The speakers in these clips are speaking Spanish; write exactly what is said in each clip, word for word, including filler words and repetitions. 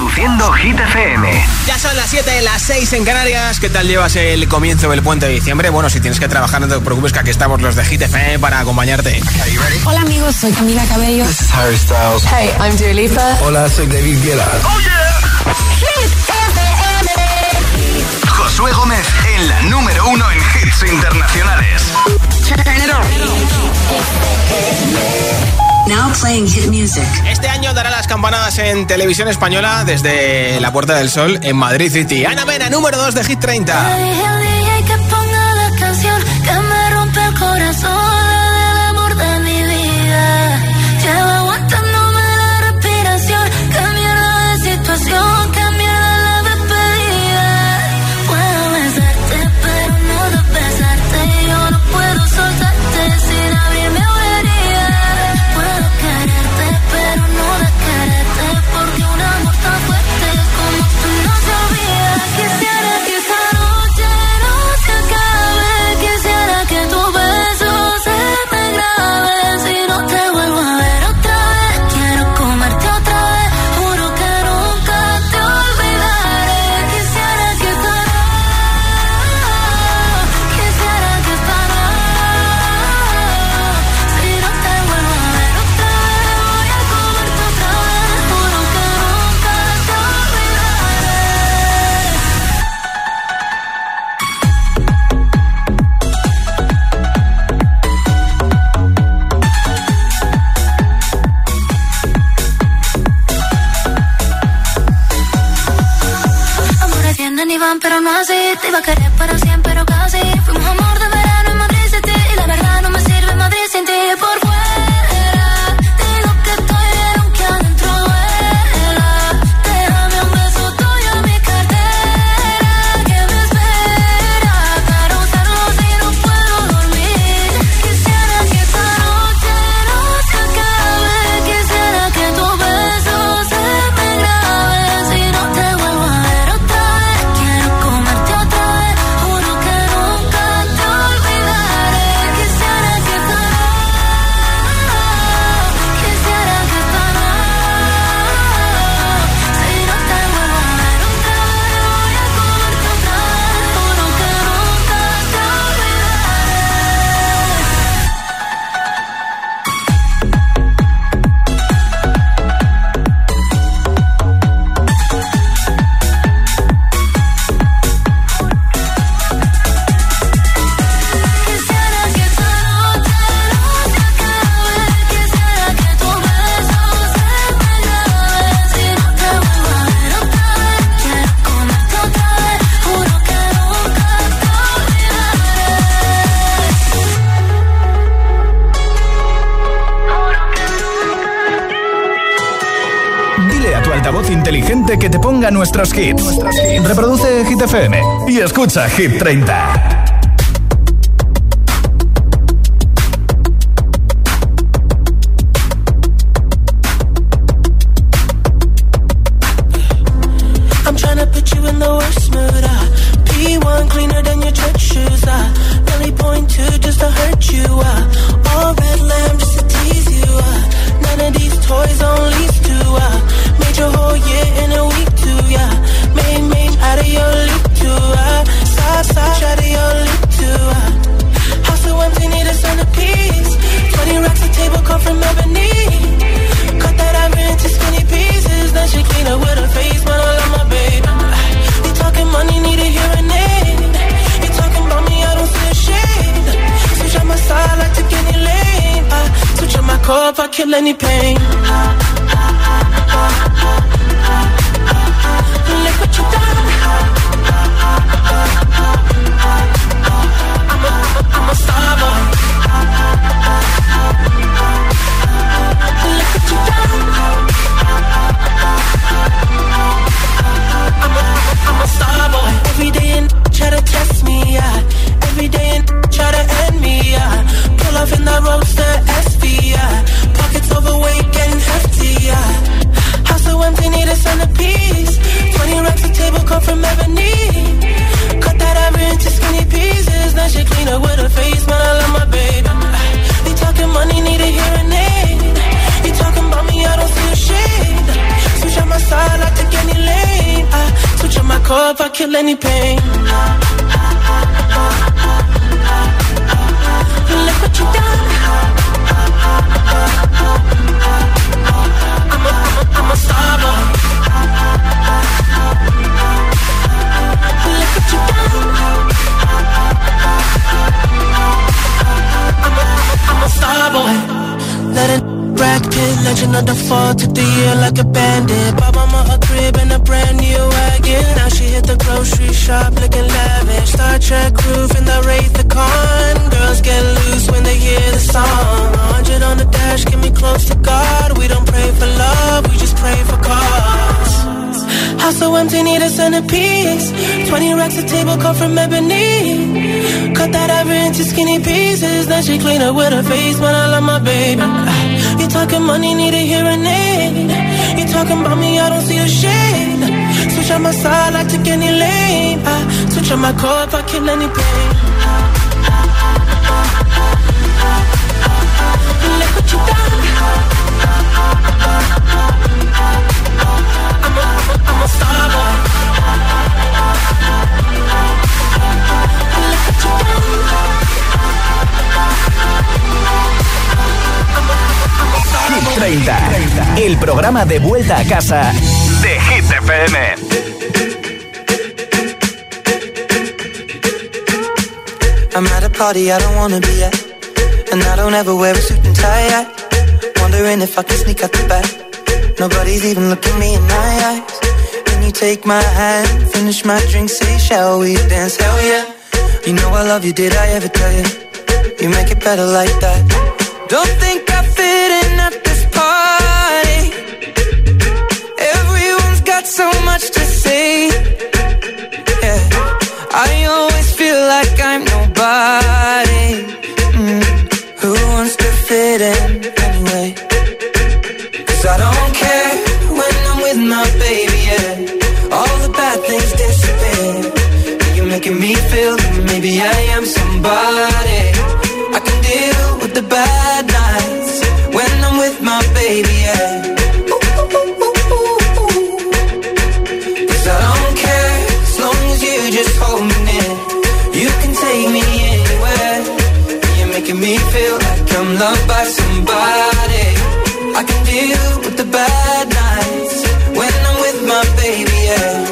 Reproduciendo Hit F M. Ya son las siete, las seis en Canarias. ¿Qué tal llevas el comienzo del puente de diciembre? Bueno, si tienes que trabajar, no te preocupes, que aquí estamos los de Hit F M para acompañarte. Okay, you ready? Hola amigos, soy Camila Cabello. This is Harry Styles. Hey, I'm Dua Lipa. Hola, soy David Guetta. ¡Oh, yeah! Hit F M. Josué Gómez en la número uno en hits internacionales. Turn it on. Now playing hit music. Este año dará las campanadas en televisión española desde la Puerta del Sol en Madrid City. Ana Mena, número dos de Hit treinta. Le dije al D J que ponga la canción que me rompe el corazón, el amor de mi vida. Llevo aguantándome la respiración. Qué mierda de situación, qué mierda la despedida. Puedo besarte, pero no de besarte. Yo no puedo soltarte sin abrirme herida. Puedo quererte, pero no de quererte, porque un amor tan fuerte como tú no se olvida. Quisiera que esta noche no se acabe, quisiera que tu beso se me grabe. Si no te vuelvo a ver otra vez, quiero comerte otra vez, juro que nunca te olvidaré. Quisiera que esta noche, quisiera que esta noche, si no te vuelvo a ver otra vez, voy a comerte otra vez, juro que nunca te olvidaré. Amores vienen y van, pero no así. Te iba a querer para siempre, pero casi. Fuimos amor de verano en Madrid City, y la verdad no me sirve Madrid sin ti. Por fuera digo que estoy bien, aunque adentro duela. Déjame un beso tuyo en mi cartera, que me espera para usarlo si no puedo dormir. Quisiera que esta noche no se acabe, quisiera que tu beso se me grabe. Si no te vuelvo a ver otra vez, quiero comerte otra vez, juro que nunca te olvidaré. Quisiera que esta noche, quisiera que esta noche, si no te vuelvo a ver otra vez, voy a comerte otra vez, juro que nunca te Quisiera que esta noche no se acabe, quisiera que tu beso se me grabe. Si no te vuelvo a ver otra vez, quiero comerte otra vez, juro que nunca te olvidaré. Dile a tu altavoz inteligente que te ponga nuestros hits. Reproduce Hit F M y escucha Hit treinta. I'm tryna put you in the worst mood. Uh. P one cleaner than your church shoes. Uh. Really point two just to hurt you. Uh. All red lamb just to tease you. Uh. None of these toys on lease to. Uh. Made your whole year in a week too. Yeah. Main main out of your league too. Uh. Side side out of your league too. Uh. House so empty, need a centerpiece. Twenty racks a table come from ebony. Cut that ivory into skinny pieces. Then she clean up with her face, man, I love my baby. You talking money, need a hearing aid. You talking about me, I don't see a shade. Switch on my side, like to any lane. I switch on my car if I kill any pain. Look what you done. I'm a, I'm a, I'm a star boy. Look what you done. I'm a, I'm a star boy. Every day and try to test me, yeah. Every day and try to end me, yeah. Pull off in that roadster S V, yeah. Pockets overweight, getting hefty, yeah. House so empty, need a centerpiece. Twenty racks a table come from ebony. Cut that ivory into skinny pieces. Then she clean up with her face, man, I love my baby. You talking money, need a hearing aid. You talking about me, I don't see a shade. Switch on my side, side, I take any lane. I switch on my core if I kill any pain. Look what you done. I'm a, I'm a, I'm a star boy. Look what you done. I'm a, I'm a, I'm a star boy. Let it Brad Pitt, legend of the fall, took the year like a bandit. Bought mama a crib and a brand new wagon. Now she hit the grocery shop looking lavish. Star Trek roof in the Wraith the Con. Girls get loose when they hear the song. one hundred on the dash, get me close to God. We don't pray for love, we just pray for cause. House so empty, need a centerpiece. Twenty racks a table cut from ebony. Cut that ever into skinny pieces. Then she clean up with her face, but I love my baby. You talking money, need a hearing aid. You talking about me, I don't see a shade. Switch on my side, I take any lane. I switch on my core if I kill any pain. Look what you done. I'm a, I'm a, I'm a star boy. Look what you done. Hit treinta, el programa de vuelta a casa de Hit F M. I'm at a party I don't wanna be at, and I don't ever wear a suit and tie yet. Wondering if I can sneak out the back. Nobody's even looking me in my eyes. Can you take my hand, finish my drink, say shall we dance? Hell yeah. You know I love you, did I ever tell you? You make it better like that. Don't think I fit in at this party. Everyone's got so much to say. Yeah, I always feel like I'm nobody. Mm. Who wants to fit in anyway? Cause I don't care when I'm with my baby, yeah. All the bad things disappear. You're making me feel that maybe I am somebody. I can deal with the bad nights when I'm with my baby, yeah. Cause I don't care as long as you just hold me near. You can take me anywhere. You're making me feel like I'm loved by somebody. I can deal with the bad nights when I'm with my baby, yeah.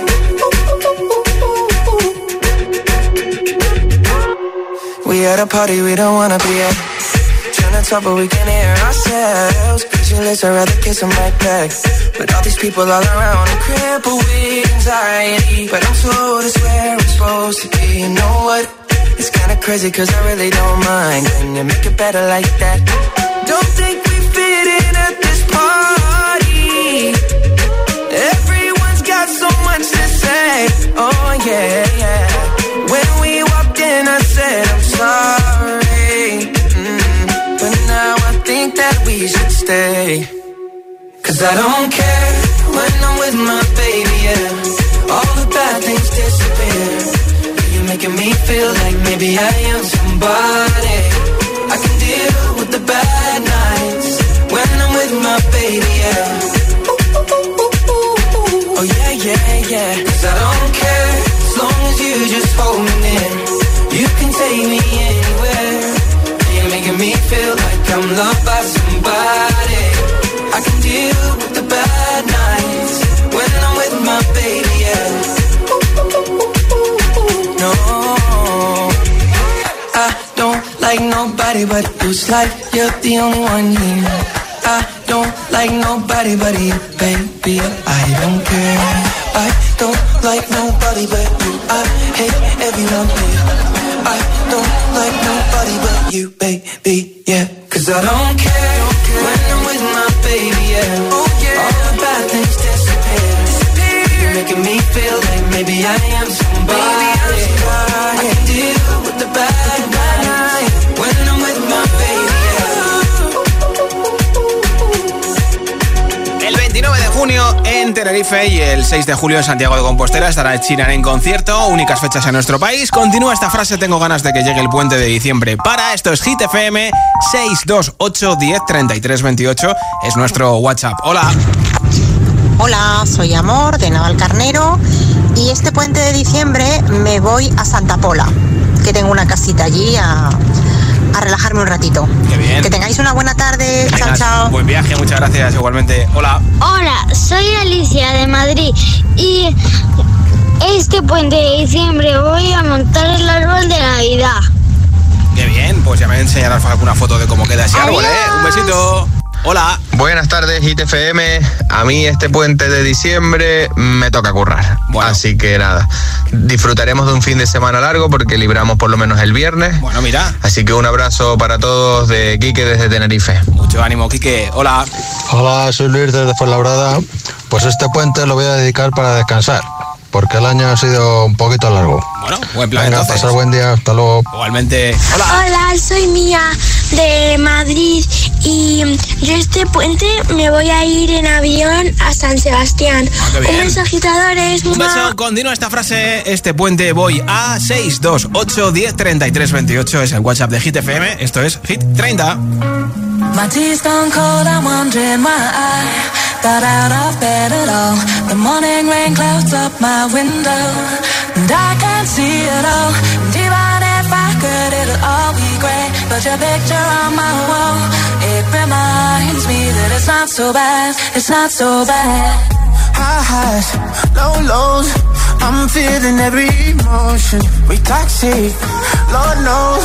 We at a party we don't wanna be at. Trying to talk but we can't hear ourselves. Pictureless, I'd rather kiss them right back. But all these people all around, I'm crippled with anxiety. But I'm told it's where I'm supposed to be. You know what? It's kinda crazy cause I really don't mind. Can you make it better like that? Don't think we fit in at this party. Everyone's got so much to say. Oh yeah, yeah. When we walked in I said I'm sorry, mm. But now I think that we should stay. Cause I don't care when I'm with my baby, yeah. All the bad things disappear. You're making me feel like maybe I am somebody. I can deal with the bad nights when I'm with my baby, yeah. Oh yeah, yeah, yeah. Cause I don't care as long as you just hold me near. You can take me anywhere. You're making me feel like I'm loved by somebody. I can deal with the bad nights when I'm with my baby, yeah. No, I don't like nobody but you. It's like you're the only one here. I don't like nobody but you, baby. I don't care. I don't like nobody but you. I hate everyone here. I don't like nobody but you, baby, yeah. Cause I don't care, don't care. When I'm with my baby, yeah. Oh, yeah. All the bad things disappear. disappear. You're making me feel like maybe I am somebody. Baby, I'm somebody. I can deal with the bad nights when I'm with my baby, yeah. El veintinueve de junio en Tenerife y el seis de julio en Santiago de Compostela estará Ed Sheeran en concierto, únicas fechas en nuestro país. Continúa esta frase: tengo ganas de que llegue el puente de diciembre. Para esto es Hit F M. Seis dos ocho diez treinta y tres veintiocho es nuestro WhatsApp. Hola. Hola, soy Amor de Navalcarnero y este puente de diciembre me voy a Santa Pola, que tengo una casita allí a, a relajarme un ratito. Qué bien. Que tengáis una buena tarde. Venga, chao, chao. Buen viaje, muchas gracias. Igualmente. Hola. Hola, soy Alicia de Madrid y este puente de diciembre voy a montar el árbol de Navidad. Qué bien, pues ya me enseñarás alguna foto de cómo queda ese árbol, ¿eh? Un besito. Hola. Buenas tardes, Hit F M. A mí este puente de diciembre me toca currar. Bueno. Así que nada, disfrutaremos de un fin de semana largo porque libramos por lo menos el viernes. Bueno, mira. Así que un abrazo para todos de Quique desde Tenerife. Mucho ánimo, Quique. Hola. Hola, soy Luis desde Fuenlabrada. Pues este puente lo voy a dedicar para descansar, porque el año ha sido un poquito largo. Bueno, buen plan. Venga, entonces. pasar buen día, hasta luego. Igualmente. Hola. Hola, soy Mía de Madrid y yo este puente me voy a ir en avión a San Sebastián. Ah, qué bien. Un beso, agitadores. Un beso. Continúa esta frase. Este puente voy a seis dos ocho diez treinta y tres veintiocho. Es el WhatsApp de Hit F M. Esto es Hit treinta. My tea's gone cold, I'm wondering why I got out of bed at all. The morning rain clouds up my window, and I can't see it all. And even if I could, it'll all be great. But your picture on my wall, it reminds me that it's not so bad, it's not so bad. High highs, low lows, I'm feeling every emotion. We toxic, Lord knows.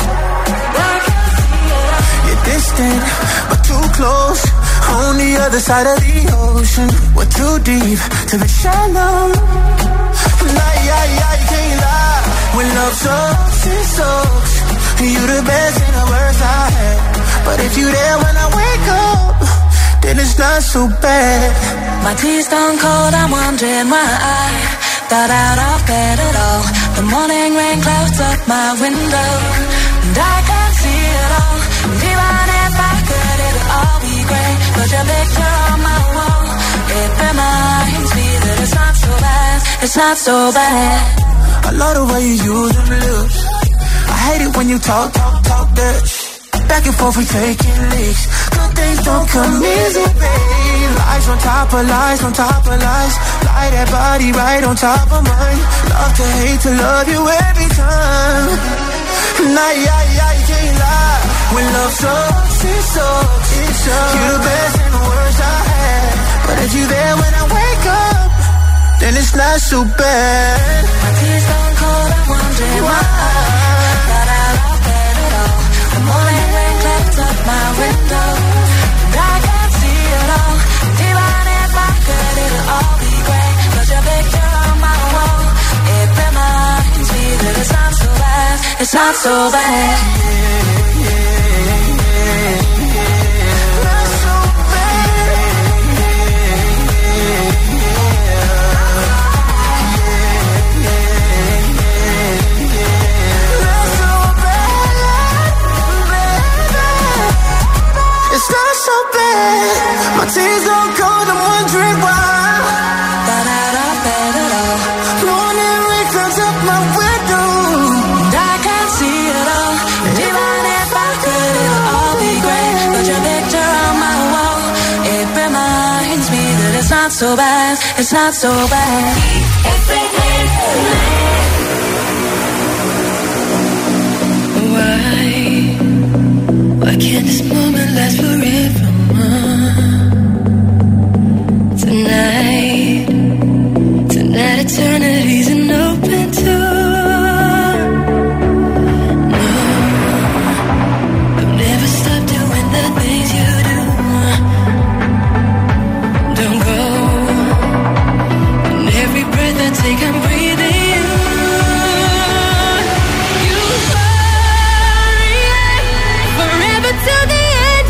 Distant, but too close. On the other side of the ocean, we're too deep to be shallow. Nah, yeah, yeah, you can't lie. When love sucks, it sucks. You the best and the worst I had. But if you there when I wake up, then it's not so bad. My tea's gone cold, I'm wondering why I got out of bed at all. The morning rain clouds up my window, and I can't see it all. And even if I could, it'll all be great. But your picture on my wall, it reminds me that it's not so bad, it's not so bad. I love the way you use them lips. I hate it when you talk, talk, talk that shit. Back and forth we taking leaks. Good things don't come easy, babe. Lies on top of lies, on top of lies. Lie that body right on top of mine. Love to hate to love you every time. Nah, yeah, yeah, you can't lie. When love sucks, it sucks, it sucks. You're the best and the worst I had. But if you there when I wake up, then it's not so bad. My tea's gone cold, I'm wondering why I got out of bed at all. The morning rain clouds up my window, and I can't see it all. And even if I could, it'll all be great. But your picture on my wall, it reminds me that it's not so bad, it's not so bad. It's not so bad. My tears don't cold, I'm wondering why. Got out of bed at all. Morning rain clouds up my window, and I can't see it all. And even if I could, it'll all be great. But your picture on my wall, it reminds me that it's not so bad, it's not so bad. Why, why can't this moment last forever? Tonight, tonight eternity's an open door. No, I've never stopped doing the things you do. Don't go, and every breath I take I'm breathing you. You hurry, forever till the end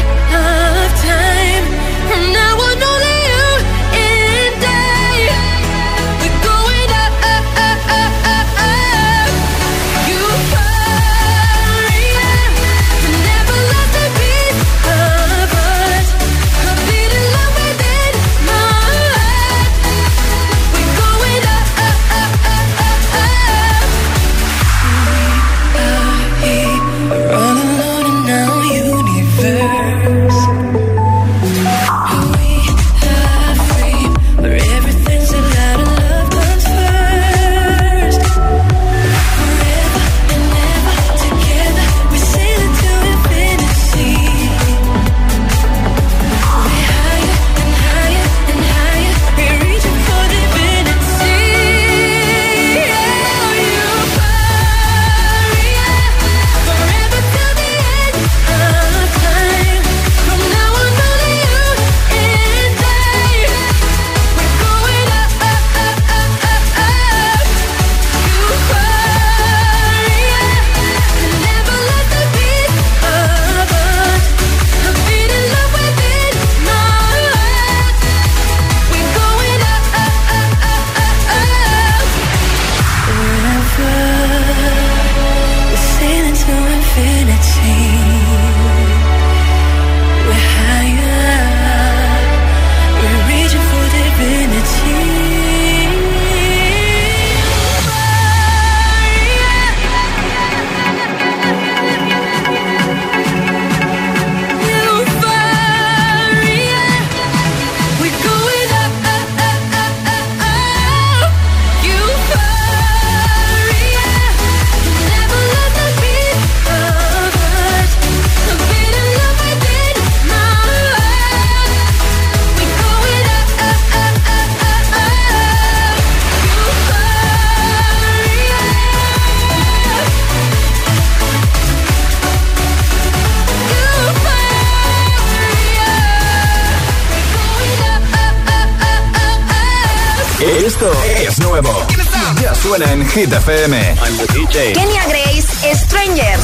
Esto es nuevo. Ya suena en Hit F M. I'm the D J. Kenya Grace, Strangers.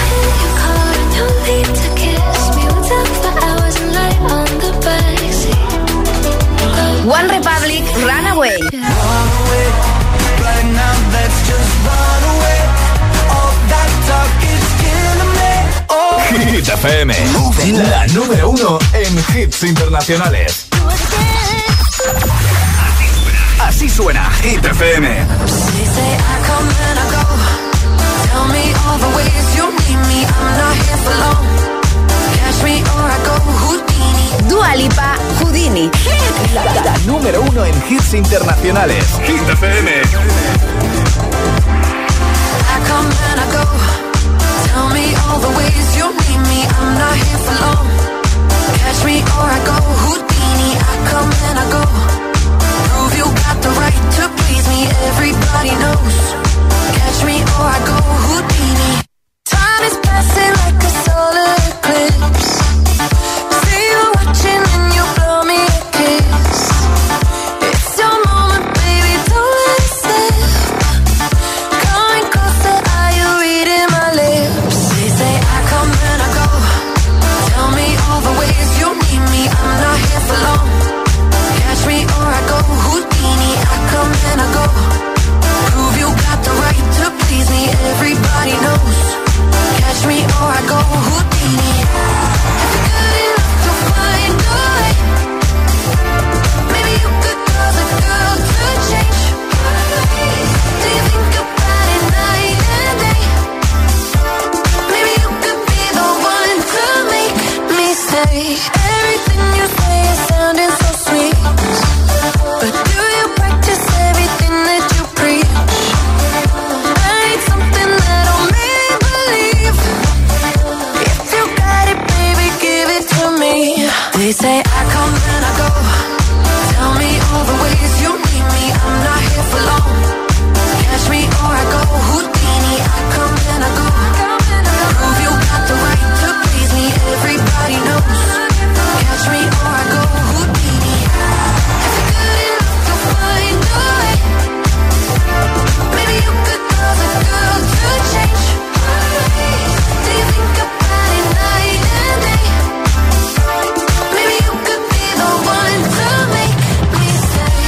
One Republic, Runaway. Hit F M, la número uno en hits internacionales. Así suena Hit F M. Dua Lipa, Houdini. La, la, la número uno en hits internacionales. Hit F M. Tell me all the ways you need me. I'm not here for long. Catch me or I go Houdini. I come and I go. Prove you got the right to please me. Everybody knows. Catch me or I go Houdini. Time is passing like a solar eclipse. See you watching and you blow me a kiss. It's your moment, baby, don't let it slip. Coming closer, are you reading my lips? They say I come and I go. Tell me all the ways you need me. I'm not here for long. Catch me or I go Houdini. I come and I go. Prove you got the right to please me. Everybody knows. Catch me or I go Houdini. If you're good enough to find a way, maybe you could cause a girl to change. Do you think about it night and day? Maybe you could be the one to make me stay. Everything you say is sounding so sweet, but do you practice everything that you preach? I need something that'll make me believe. If you got it, baby, give it to me. They say I come and I go. Tell me all the ways you need me. I'm not here for long. Catch me or I go Houdini. I come and I go. Prove you got the right to please me. Everybody knows. Catch me or I go Houdini. If you're good enough to find a way, maybe you could cause a girl to change. Do you think about it night and day? Maybe you could be the one to make me stay.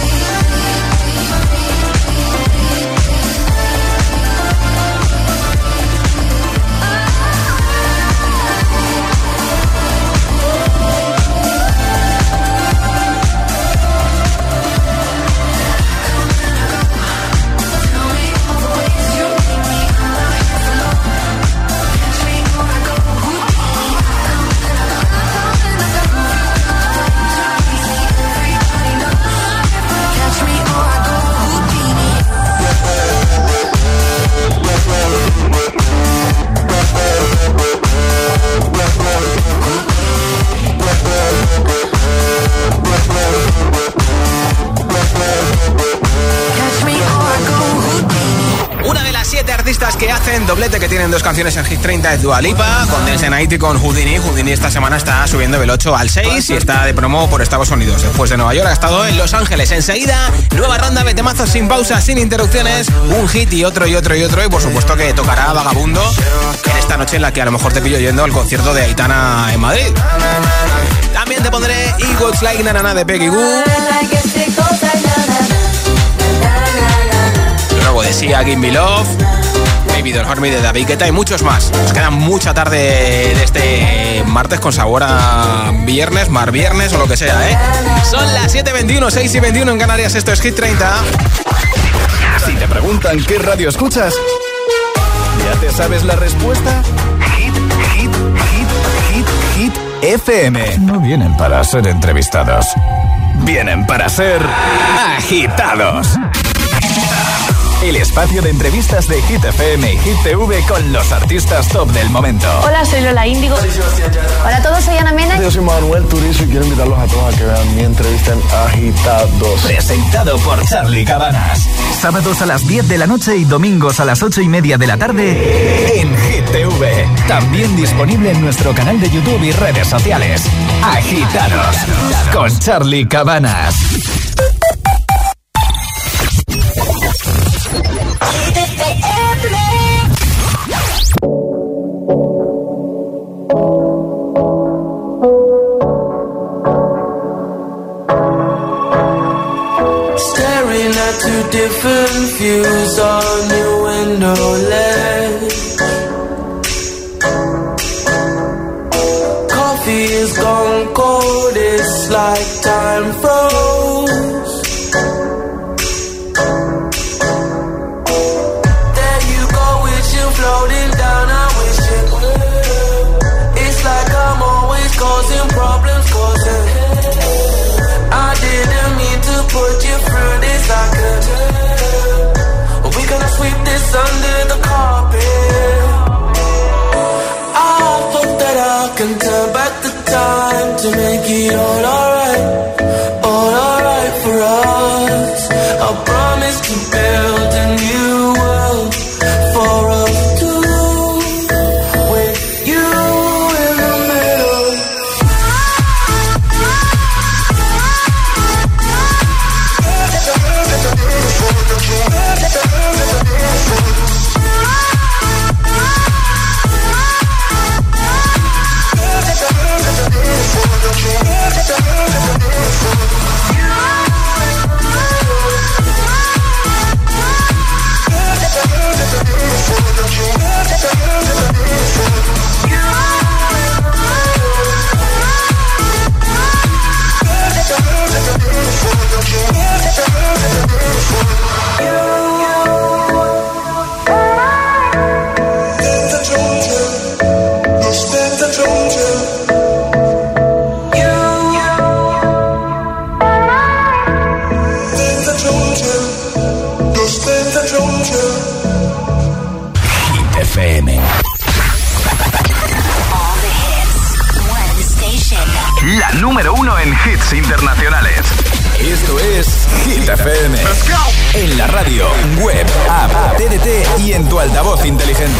Una de las siete artistas que hacen doblete, que tienen dos canciones en Hit treinta, es Dua Lipa, con Dance the Night y con Houdini. Houdini esta semana está subiendo del ocho al seis y está de promo por Estados Unidos. Después de Nueva York ha estado en Los Ángeles. Enseguida, nueva ronda de temazos sin pausa, sin interrupciones, un hit y otro y otro y otro. Y por supuesto que tocará Vagabundo en esta noche en la que a lo mejor te pillo yendo al concierto de Aitana en Madrid. También te pondré It Goes Like Na Na Na de Peggy Goo. Luego de Sia, Give Me Love, Baby Don't Hurt Me de David Guetta y muchos más. Nos queda mucha tarde de este martes con sabor a viernes, mar viernes o lo que sea, ¿eh? Son las siete y veintiuno, seis y veintiuno en Canarias. Esto es Hit treinta. Si te preguntan qué radio escuchas, ¿ya te sabes la respuesta? Hit, hit, hit, hit, hit F M. No vienen para ser entrevistados, vienen para ser agitados. El espacio de entrevistas de Hit F M y Hit T V con los artistas top del momento. Hola, soy Lola Índigo. Hola a todos, soy Ana Mena. Yo soy Manuel Turizo y quiero invitarlos a todos a que vean mi entrevista en Agitados. Presentado por Charlie Cabanas. Sábados a las diez de la noche y domingos a las ocho y media de la tarde en Hit T V. También disponible en nuestro canal de YouTube y redes sociales. Agitados con Charlie Cabanas. staring at two different views on your window ledge. Coffee is gone cold, it's like time froze. There you go, wishing, floating down, I wish it would. It's like I'm always causing problems, causing I didn't mean to put you through this, I could tell. We're gonna sweep this under the carpet. I hope that I can turn back the time to make it all alright, all alright for us. I promise to build a new world for us two, with you in the middle. La número uno en hits internacionales. Esto es Hit F M. En la radio, web, app, T D T y en tu altavoz inteligente.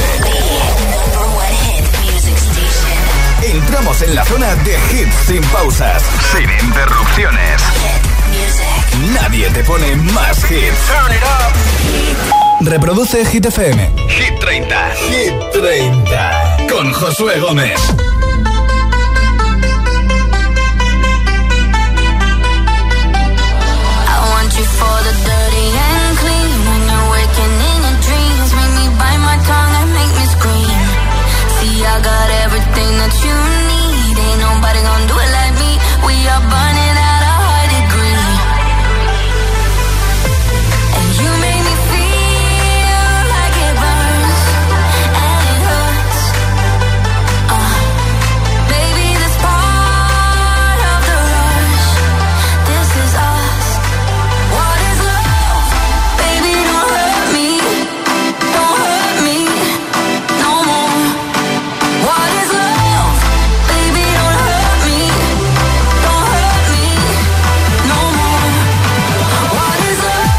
Entramos en la zona de hits sin pausas, sin interrupciones. Nadie te pone más hits. Reproduce Hit F M. Hit treinta. Hit treinta. Con Josué Gómez. You for the dirty and clean. When you're waking in your dreams, make me bite my tongue and make me scream. See, I got everything that you need. Ain't nobody gonna do it like me. We are burning at a high degree. And you make me feel like it burns and it hurts. Uh, baby, this part of the rush. This is us. What is love? Baby, don't hurt me. Don't hurt me no more. What is love? Baby, don't hurt me. Don't hurt me no more. What is love?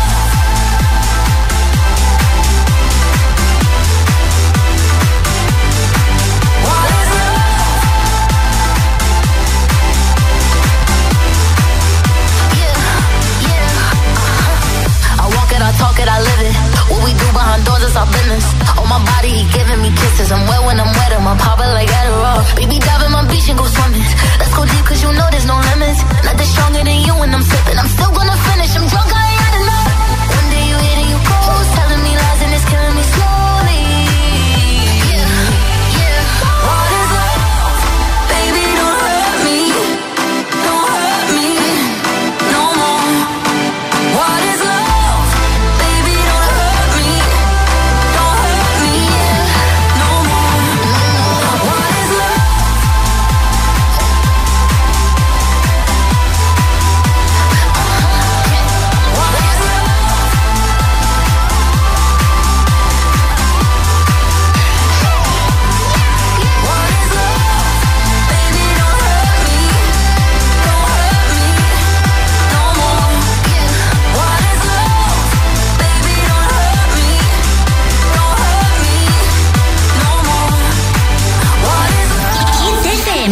What is love? Yeah, yeah. I walk it, I talk it, I live it. What we do behind doors is our business. On my body, he giving me kisses. I'm wet when I'm wet, I'm popping like Adderall. Baby, dive in my beach and go swimming. Let's go deep, cause you know there's no limits. Nothing stronger than you when I'm sipping. I'm still gonna finish, I'm drunk, I ain't had enough. One day you hit and you go, telling me lies and it's killing me slowly. Yeah, yeah. What is love? Baby, don't hurt me. Don't hurt me no more. What is love? Baby, don't hurt me. Don't hurt me no more. What is love? What is love? What is love? Baby, don't hurt me. Don't hurt me no more. What is love? Baby, don't hurt me. Don't hurt me no more. What is love? Hit F M.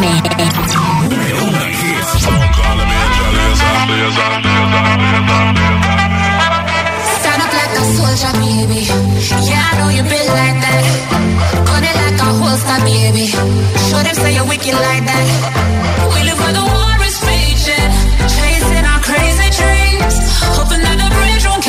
Stand up like a soldier, baby. Yeah, I know you been like that. Gun it like a holster, baby. Show them say you're wicked like that. We live where the war is raging, chasing our crazy dreams, hoping that the bridge won't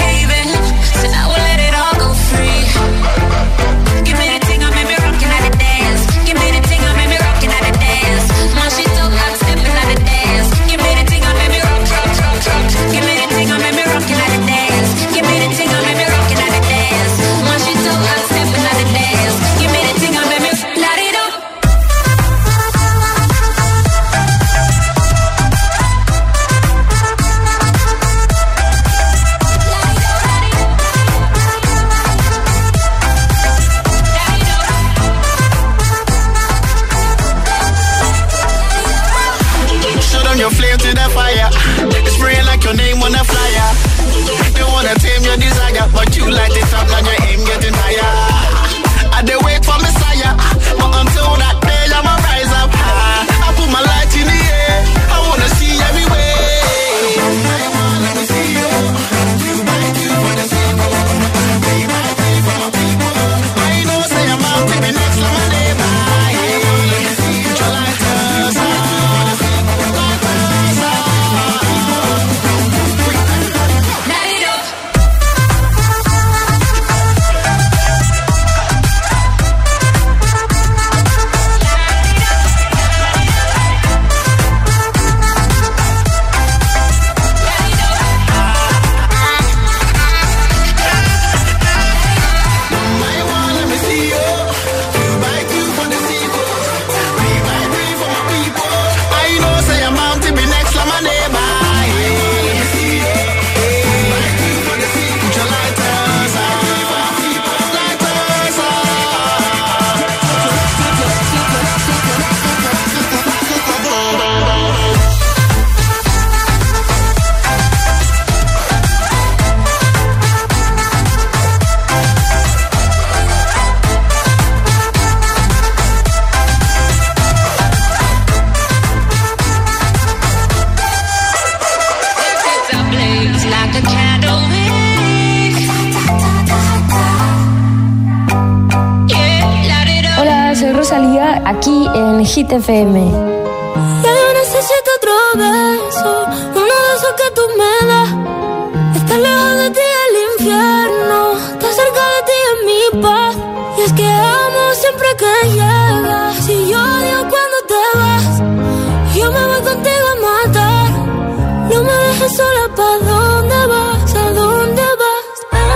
aquí en Hit F M. Ya yo necesito otro beso, uno de esos que tú me das. Estar lejos de ti es el infierno, estar cerca de ti es mi paz. Y es que amo siempre que llegas, si yo odio cuando te vas. Yo me voy contigo a matar, no me dejes sola, ¿pa' dónde vas? ¿A dónde vas?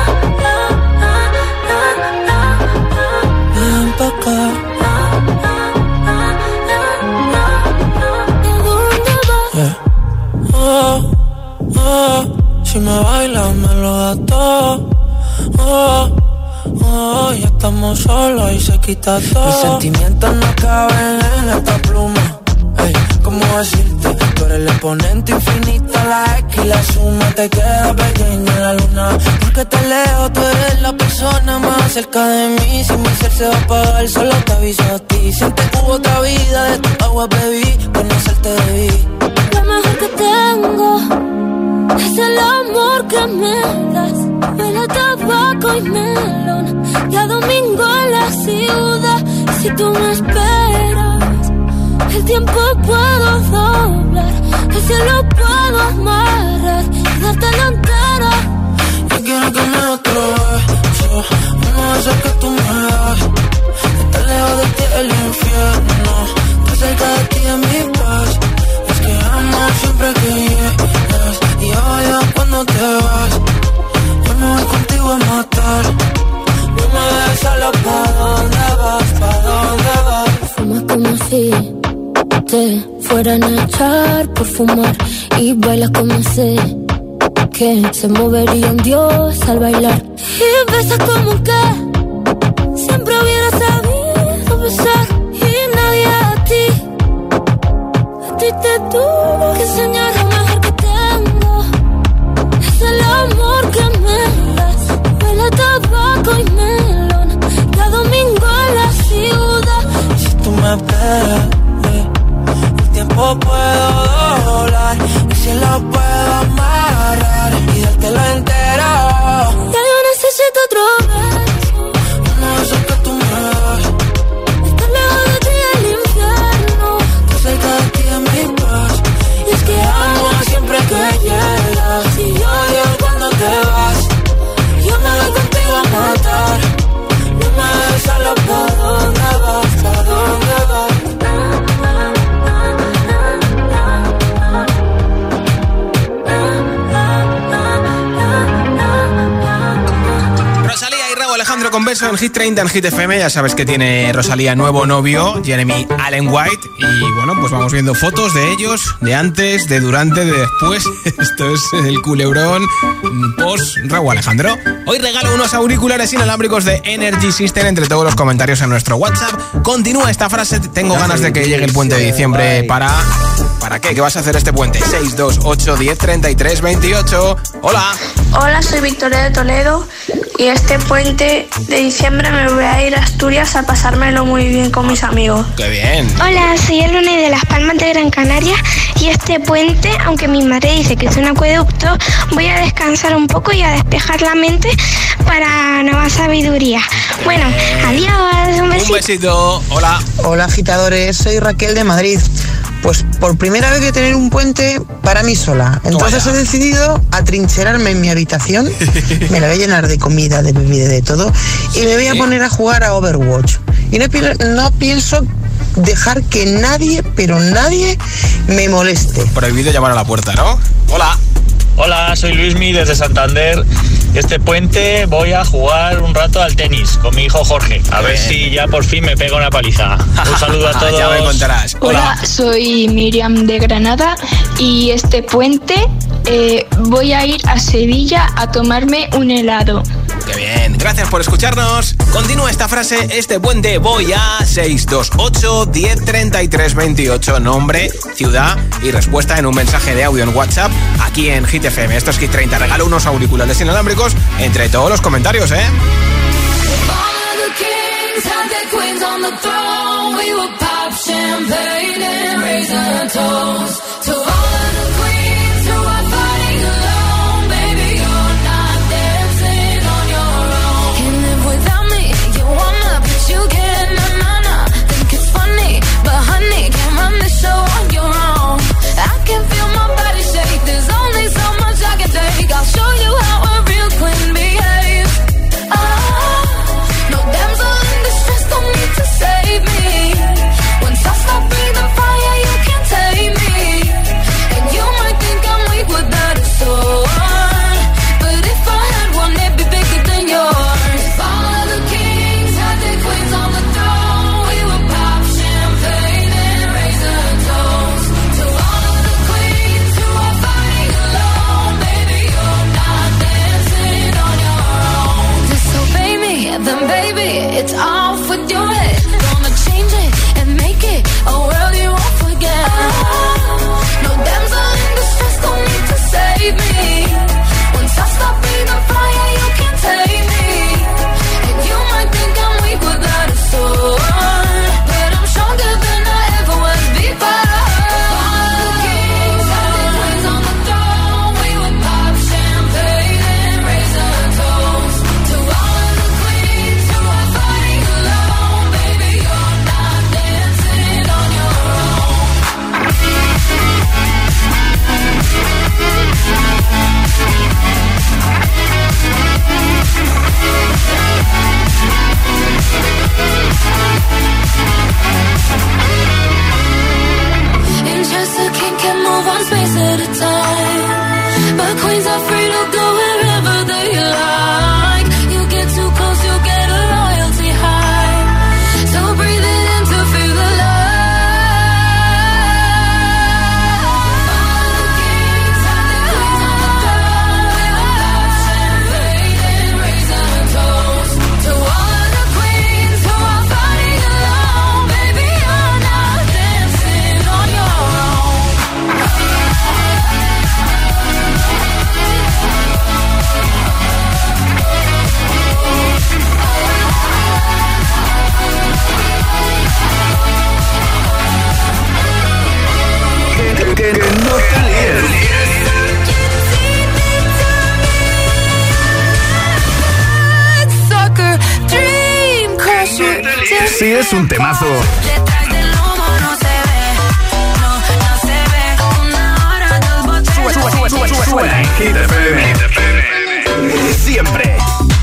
Ven pa' acá. Oh, oh, si me bailas me lo das todo. Oh, oh, ya estamos solos y se quita todo. Mis sentimientos no caben en esta pluma. Ey, ¿cómo decirte? Tú eres el exponente infinito, la X y la suma te queda pequeña en la luna. Porque te leo, tú eres la persona más cerca de mí. Si mi ser se va a apagar, solo te aviso a ti. Sientes que hubo otra vida, de tu agua bebí, conocerte debí. Lo mejor que tengo es el amor que me das. Huele a tabaco y melón, y a domingo en la ciudad. Y si tú me esperas, el tiempo puedo doblar, el cielo puedo amarrar y darte la entera. Yo quiero que me des otro beso, uno de esos que tú me das. Estar lejos de ti es el infierno, estar cerca de ti es mi paz. Es que amo siempre que llegas y odio cuando te vas. Yo me voy contigo a matar, no me dejes sola, ¿pa' dónde vas? ¿Pa' dónde vas? Fumas como si te fueran a echar por fumar y bailas como sé que se movería un dios al bailar. Y besas como que siempre hubiera sabido besar y nadie a ti. A ti te tuvo que enseñar lo mejor que tengo. Es el amor que me das. Huele a tabaco y melón, cada domingo en la ciudad. Si tú me esperas, el tiempo puedo doblar, el cielo puedo amarrar y dártelo entero. Ya yo necesito otro beso, uno de esos que tú me das. estar lejos de ti es el infierno, estar cerca de ti es mi paz. y es que Amo siempre que llegas y odio cuando te vas. Yo me voy contigo a matar, no me dejes solo, ¿pa' dónde vas? ¿Pa' dónde vas? Alejandro con beso en Hit treinta en Hit F M. Ya sabes que tiene Rosalía nuevo novio, Jeremy Allen White. Y bueno, pues vamos viendo fotos de ellos, de antes, de durante, de después. Esto es el culebrón post Raúl Alejandro. Hoy regalo unos auriculares inalámbricos de Energy System entre todos los comentarios en nuestro WhatsApp. Continúa esta frase: tengo ganas de que llegue el puente de diciembre para... ¿Para qué? ¿Qué vas a hacer este puente? seis dos ocho diez treinta y tres veintiocho. Hola. Hola, soy Victoria de Toledo y este puente de diciembre me voy a ir a Asturias a pasármelo muy bien con mis amigos. ¡Qué bien! Hola, soy Elena de Las Palmas de Gran Canaria y este puente, aunque mi madre dice que es un acueducto, voy a descansar un poco y a despejar la mente para nueva sabiduría. Bueno, adiós, un besito. Un besito, hola. Hola, agitadores, soy Raquel de Madrid. Pues por primera vez voy a tener un puente para mí sola. Entonces he decidido atrincherarme en mi habitación. Me la voy a llenar de comida, de bebida, de todo. Y me voy a poner a jugar a Overwatch. Y no, no pienso dejar que nadie, pero nadie, me moleste. Prohibido llamar a la puerta, ¿no? Hola. Hola, soy Luismi desde Santander. Este puente voy a jugar un rato al tenis con mi hijo Jorge. A ver si ya por fin me pega una paliza. Un saludo a todos. Ya me contarás. Hola, soy Miriam de Granada y este puente eh, voy a ir a Sevilla a tomarme un helado. ¡Qué bien! Gracias por escucharnos. Continúa esta frase: este puente voy a seis dos ocho diez treinta y tres veintiocho. Nombre, ciudad y respuesta en un mensaje de audio en WhatsApp aquí en Hit F M. Esto es Hit treinta. Regalo unos auriculares inalámbricos entre todos los comentarios, ¿eh? Funny Sí, es un temazo. Detrás del humo no se ve, no, no se ve. Una hora, dos botellas. Sube, sube, sube, sube, suena en Hit F M. Siempre.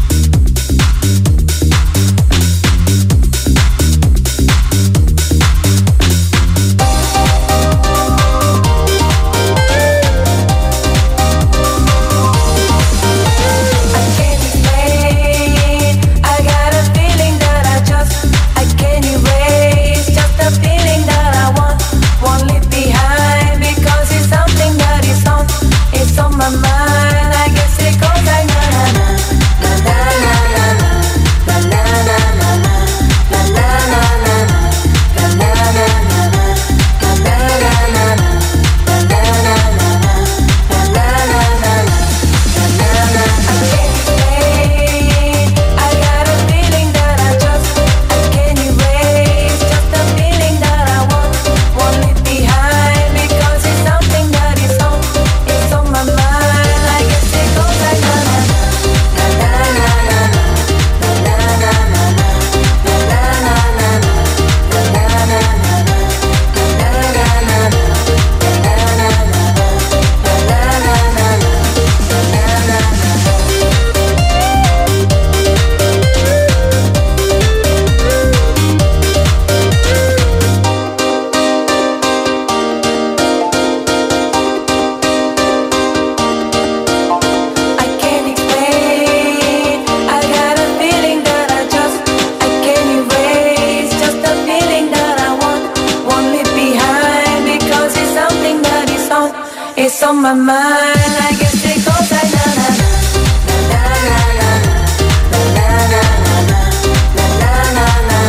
on my mind. I guess it goes like na na na na na na na na na na na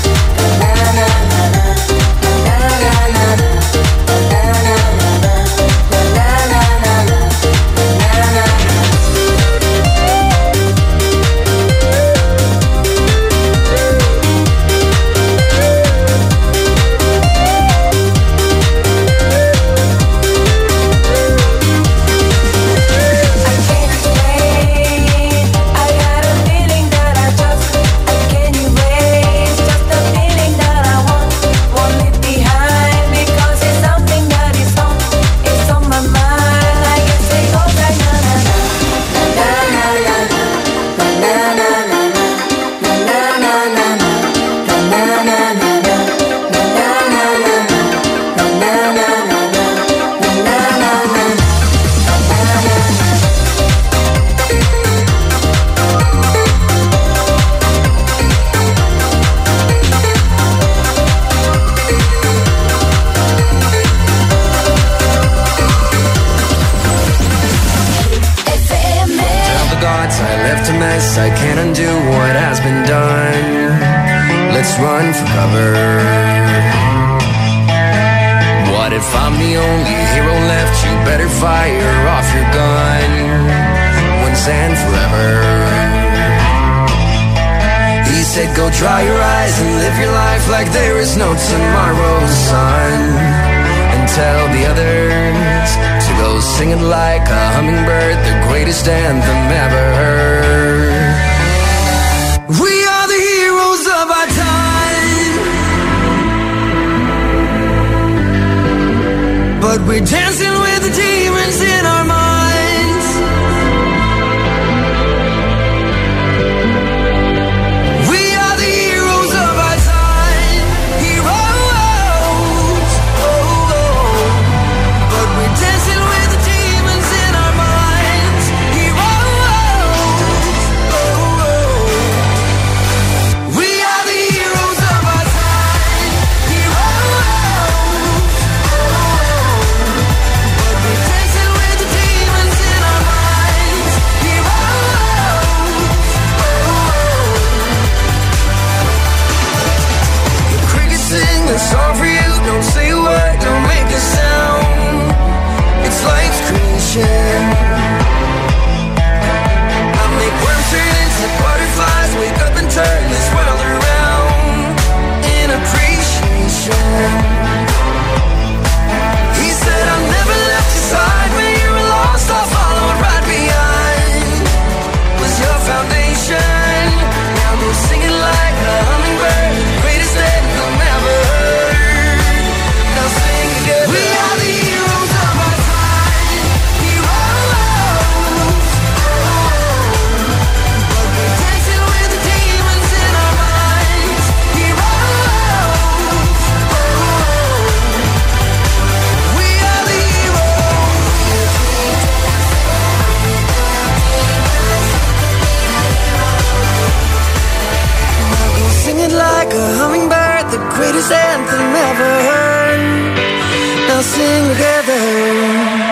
I can't undo what has been done. Let's run for cover. What if I'm the only hero left? You better fire off your gun once and forever. He said go dry your eyes and live your life like there is no tomorrow, son. And tell the others to go singing like a hummingbird, the greatest anthem ever heard. We are the heroes of our time, but we're dancing with the demons in our minds. We are the heroes of our time, heroes, oh, oh. But we're dancing with the demons in our minds, heroes. that never hurt. Now sing together.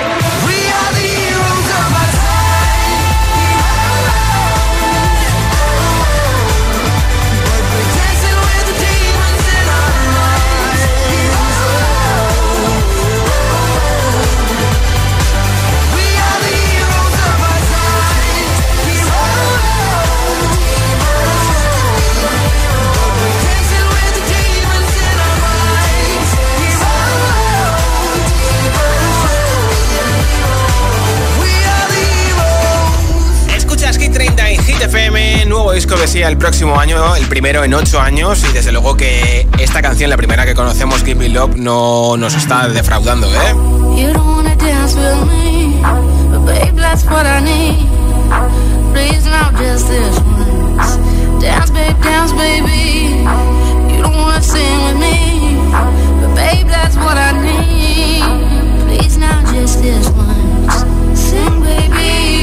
F M, nuevo disco de Sia el próximo año, el primero en ocho años, y desde luego que esta canción, la primera que conocemos, Give Me Love, no nos está defraudando, ¿eh? You don't wanna dance with me, but babe, that's what I need. Please not just this once. Dance, babe, dance, baby. You don't wanna sing with me, but babe, that's what I need. Please not just this once. Sing, baby.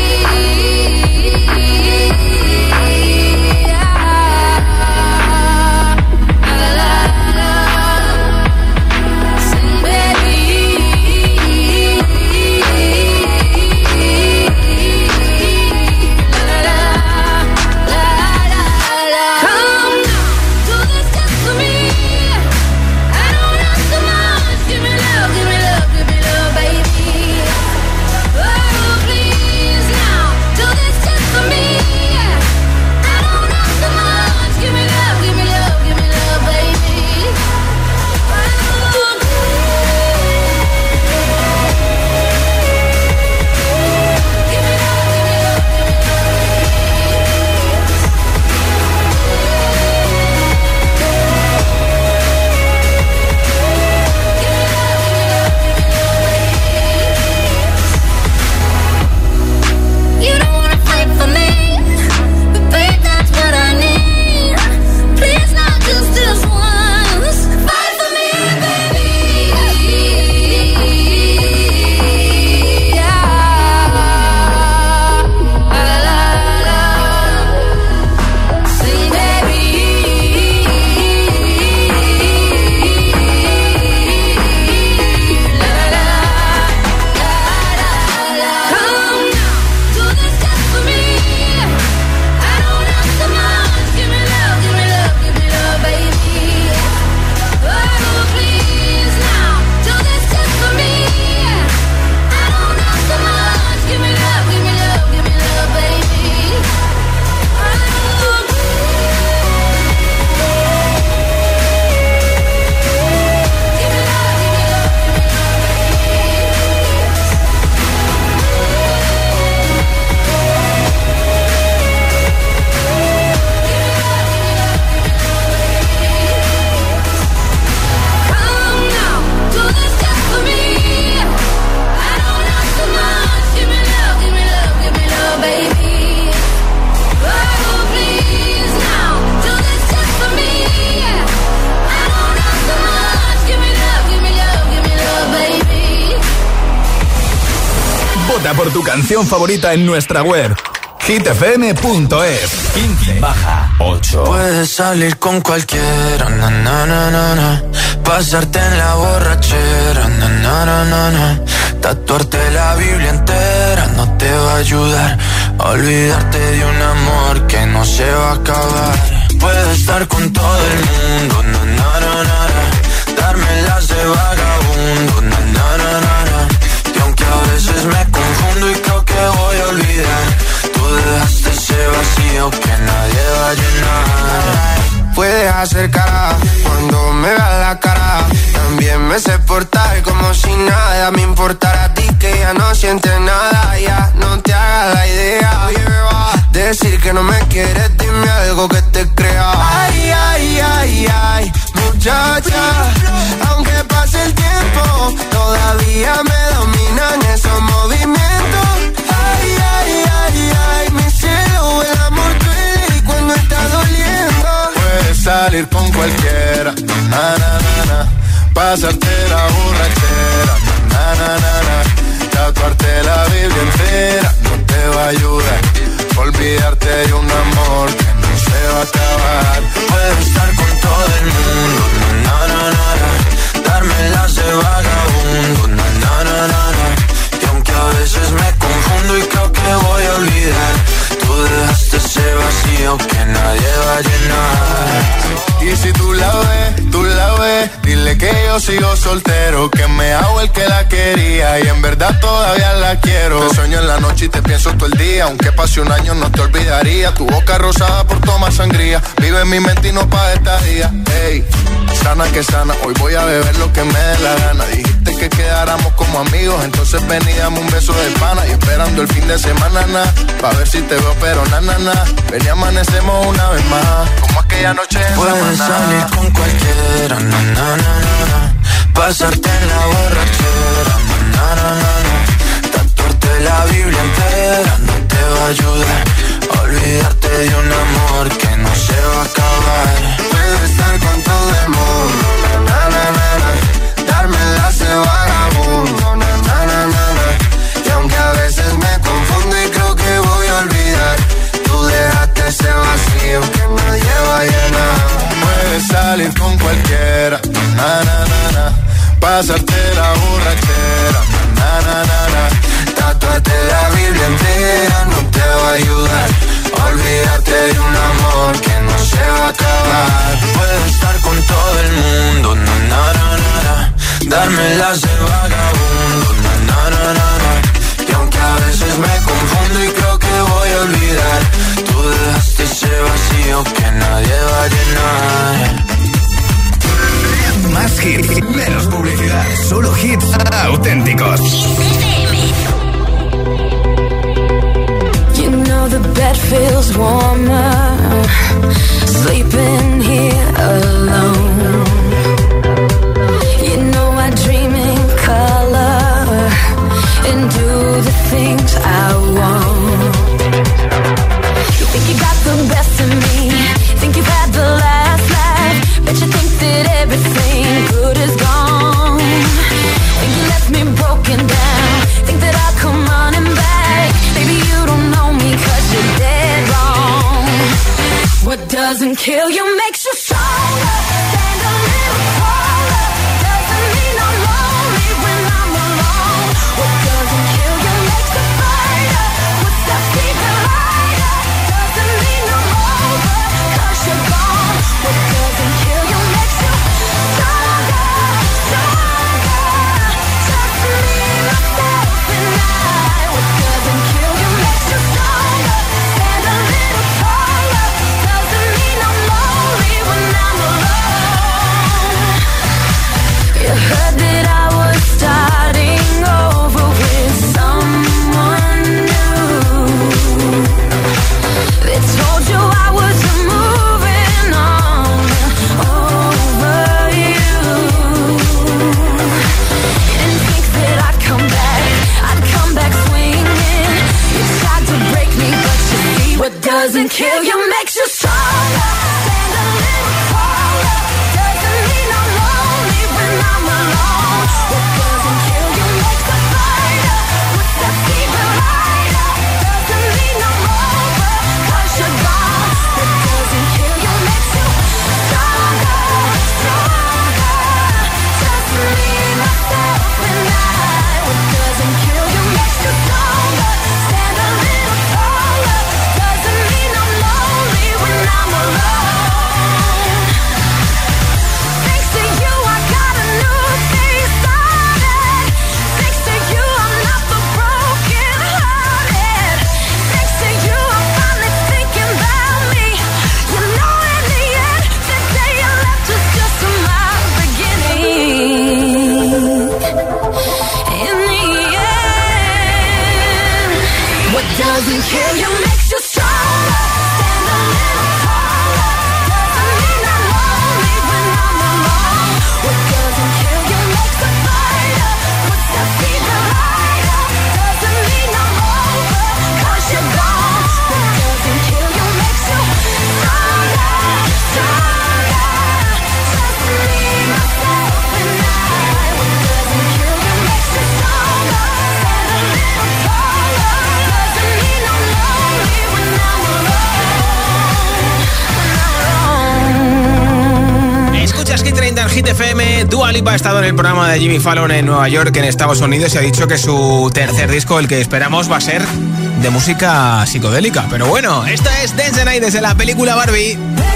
Por tu canción favorita en nuestra web hit f m punto es. quince baja ocho. Puedes salir con cualquiera, na, na, na, na, na. Pasarte en la borrachera, na, na, na, na, na. Tatuarte la Biblia entera no te va a ayudar a olvidarte de un amor que no se va a acabar. Puedes estar con todo el mundo, na, na, na, na, na. Darme las de vagabundo, na, na, na, na, na. Y aunque a veces me confundo y creo que voy a olvidar, tú dejaste ese vacío que nadie va a llenar. Puedes hacer cara cuando me veas la cara. También me sé portar como si nada me importara a ti, que ya no sientes nada. Ya no te hagas la idea. Oye, me va a decir que no me quieres, dime algo que te crea. Ay, ay, ay, ay, muchacha, aunque pase el tiempo, todavía me dominan esos movimientos. Ay, ay, ay, ay, mi cielo, el amor duele y cuando está doliendo. Puedes salir con cualquiera, na, na, na, na. Pasarte la borrachera, na, na, na, na. Tatuarte la Biblia entera no te va a ayudar. Olvidarte de un amor que no se va a acabar. Puedes estar con todo el mundo, na, vacío que nadie va a llenar. Y si tú la ves, tú la ves, dile que yo sigo soltero, que me hago el que la quería y en verdad todavía la quiero. Te sueño en la noche y te pienso todo el día, aunque pase un año no te olvidaría. Tu boca rosada por tomar sangría, vive en mi mente y no pa' esta día. Ey, sana que sana, hoy voy a beber lo que me dé la gana. Dijiste que quedáramos como amigos, entonces ven y dame un beso de pana. Y esperando el fin de semana, na, pa' ver si te veo, pero na, na, na. Ven y amanecemos una vez más, como aquella noche en Puedes salir con cualquiera, na, na, na, na, na. Pasarte en la borrachera, na, na, na, na. Tatuarte la Biblia entera no te va a ayudar. Olvidarte de un amor que no se va a acabar. Puedes estar con todo el mundo, na, na, na, na. Darme la de vagabundo, na, na, na, na, na. Y aunque a veces me confundo y creo que voy a olvidar, tú dejaste ese vacío que nadie va a llenar. Puedes salir con cualquiera, na, na, na, na. Pasarte la borrachera, na, na, na, na. Tatuarte la Biblia entera no te va a ayudar. Olvídate de un amor que no se va a acabar. Puedes estar con todo el mundo, na, na, na, na, na. Darme las de vagabundo, na, na, na, na, na. Y aunque a veces me confundo y creo que voy a olvidar, tú dejaste ese vacío que nadie va a llenar. Más hits, menos publicidad. Solo hits auténticos. You know the bed feels warmer sleeping here alone. You know I dream in color and do the things I want. You think you got the best of me, think you've had the last laugh, but you think that everything good is gone. Think you left me broken down, think that I'll come running back. Baby, you don't know me 'cause you're dead wrong. What doesn't kill you makes you stronger. Stand a little taller. Doesn't mean I'm lonely when I'm alone. What doesn't kill you makes you fighter. What's that secret lighter? Doesn't mean I'm over 'cause you're gone. What doesn't kill you makes you stronger, stronger. Just me, myself, and I. What doesn't kill you makes you stronger. Stand a little taller. Doesn't mean I'm lonely when I'm alone. You heard that I was starting over with someone new. They told you I was moving on over you. Didn't think that I'd come back, I'd come back swinging. You tried to break me, but you see what doesn't kill you makes you stronger. Stand a little taller. Doesn't mean I'm lonely when I'm alone. What doesn't kill you makes a fighter. What's that secret lighter? Doesn't mean I'm over 'cause you're gone. What doesn't kill you makes you stronger, stronger. Just me, myself, and I. What doesn't kill you makes you stronger. Stand a little taller. Doesn't mean I'm lonely when Hit F M. Dua Lipa ha estado en el programa de Jimmy Fallon en Nueva York, en Estados Unidos, y ha dicho que su tercer disco, el que esperamos, va a ser de música psicodélica. Pero bueno, esta es Dance the Night desde la película Barbie.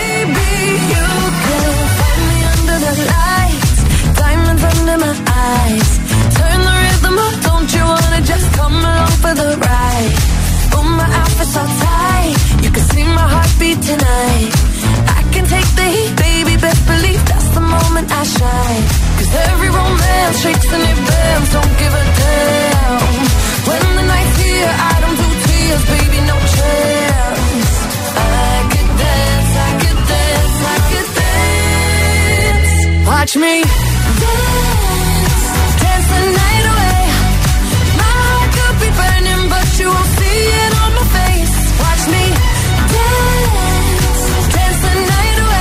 Take the heat, baby, best believe that's the moment I shine. Cause every romance shakes and it bends, don't give a damn. When the night's here, I don't do tears, baby, no chance. I could dance, I could dance, I could dance. Watch me dance, dance the night away. My heart could be burning, but you won't see it on my face. Watch me dance, dance the night.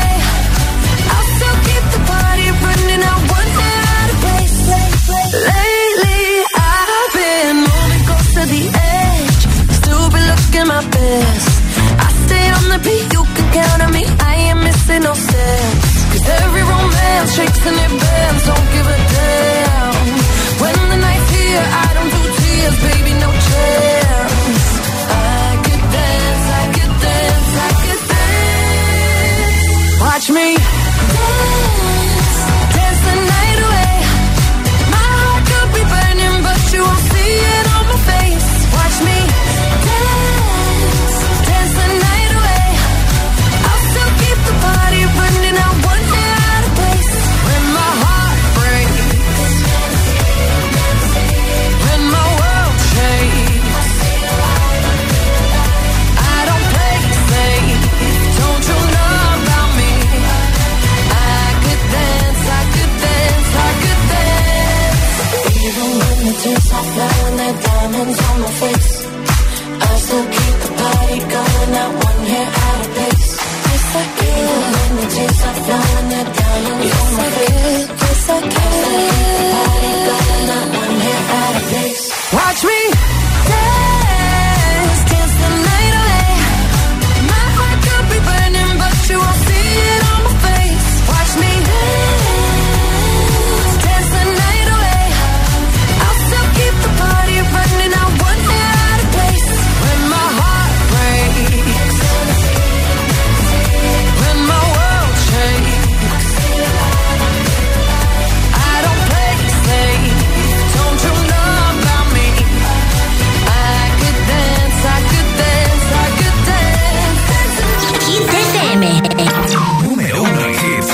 Running out one hair out of place. Lately I've been moving close to the edge, still been looking my best. I stay on the beat, you can count on me, I ain't missing no steps. Cause every romance shakes and it bends, don't give a damn. When the night's here, I don't do tears, baby, no chance. I could dance, I could dance, I could dance. Watch me dance, dance the night away. My heart could be burning, but you won't see it on my face. Watch me dance, dance the night away. I'll still keep the party running out one hair out of place. When my heart breaks, when my world shakes, I don't play safe, don't you know about me? I could dance, I could dance, I could dance. Even when the tears are flowing, they're diamonds on my face, I still keep the party going, not one hair out of place. Yes, I can. Even when the tears are flowing, they're diamonds on my face. Yes, I can. I still keep the party going, not one hair out of place. Watch me dance, dance the night away. My heart could be burning, but you won't see it on my face. Watch me dance, dance the night away. I'll still keep the party running out one hair out of place. When my heart breaks, when my world shakes, I don't play safe, don't you know about me? I could dance, I could dance, I could dance. Hit F M. Número uno en hits.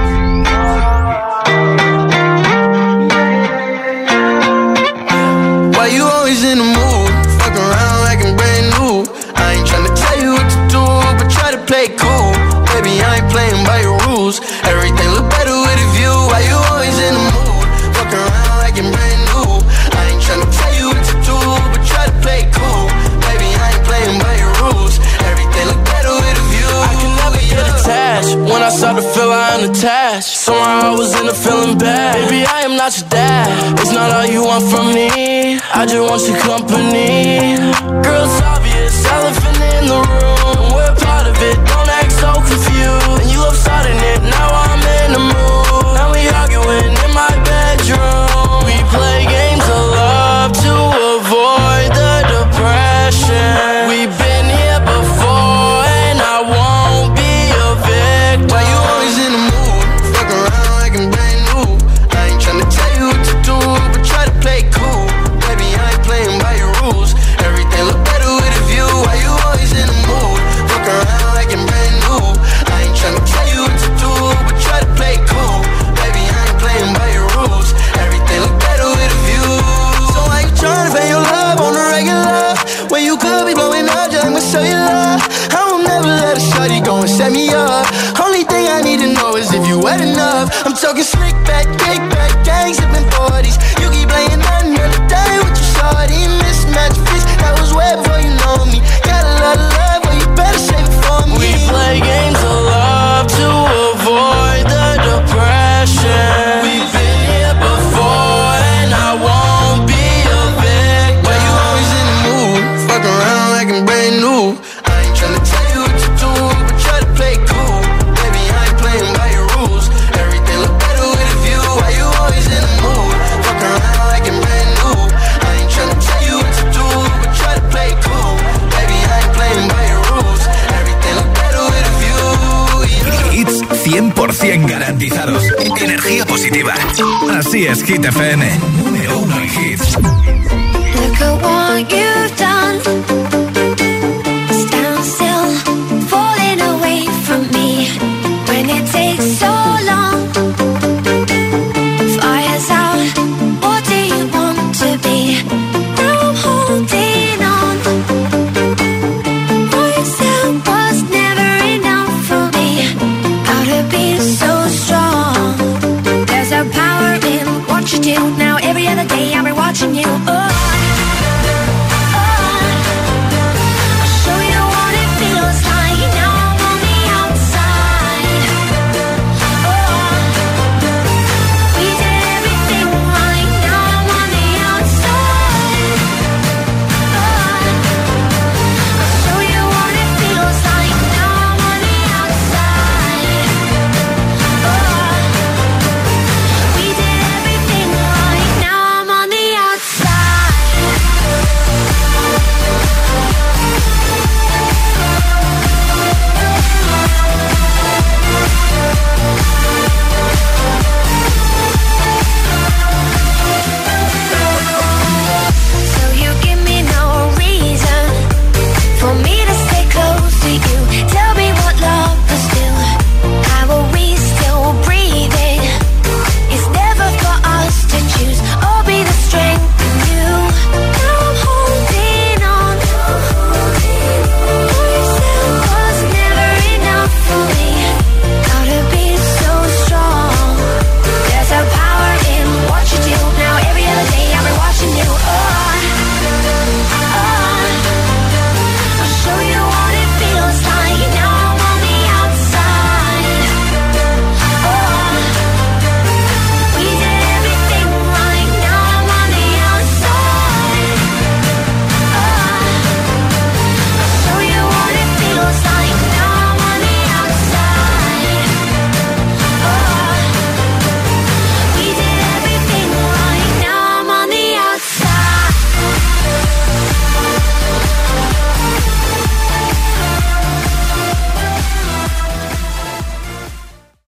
Why you always in the mood? Fuck around like I'm brand new. I ain't tryna tell you what to do, but try to play cool. Baby, I ain't playing by your rules. Everything look better with a view. Why you always in the mood? Fuck around like I'm brand new. I ain't tryna tell you what to do, but try to play cool. Baby, I ain't playing by your rules. Everything look better with a view. I can never get attached. When I start to feel I am attached, somehow I was in a feeling bad. Baby, I am not your dad. It's not all you want from me, I just want your company. Girl, it's obvious, elephant in the room. We're part of it, don't act so confused. And you love starting it, now I'm in the mood. Now we arguing in my bedroom. We play games of love to avoid the depression. We've been here before and I won't be a victim. Why you always in the mood? Fuck around like I'm brand new. I ain't tryna tell you what to do, but try to play cool. Baby, I ain't playing by your rules. Everything look better with a view. Why you always in the mood? Fuck around like I'm brand new. I ain't tryna tell you what to do, but try to play cool. Baby, I ain't playing by your rules. Everything look better with a view. So why you tryna pay your love on the regular, when you could be blowing up just with cellular? I will never let a shawty go and set me up. Only thing I need to know is if you wet enough. I'm talking slick back, kick back, gang sipping forties. You keep playing another day with your shawty. Mismatch fish, that was way before you know me. Got a lot of love, but you better save it for me. We play games of love to avoid the depression. We've been here before and I won't be a victim. Why you always in the mood? Fuck around like I'm brand new. I ain't tryna tell you what to do, but try to play cool. Baby, I ain't playing by your rules. Everything look better cien garantizados. Energía positiva. Así es Hit F M. Número uno en hits. Look at what you've done.